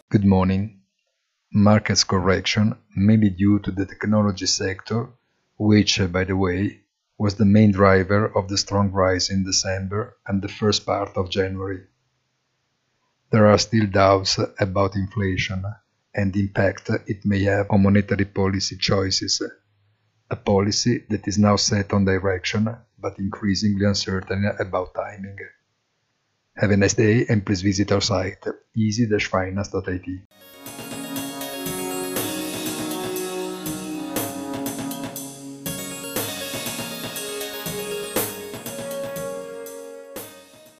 Good morning. Markets correction mainly due to the technology sector, which, by the way, was the main driver of the strong rise in December and the first part of January. There are still doubts about inflation and the impact it may have on monetary policy choices, a policy that is now set on direction but increasingly uncertain about timing. Have a nice day and please visit our site easy-finance.it.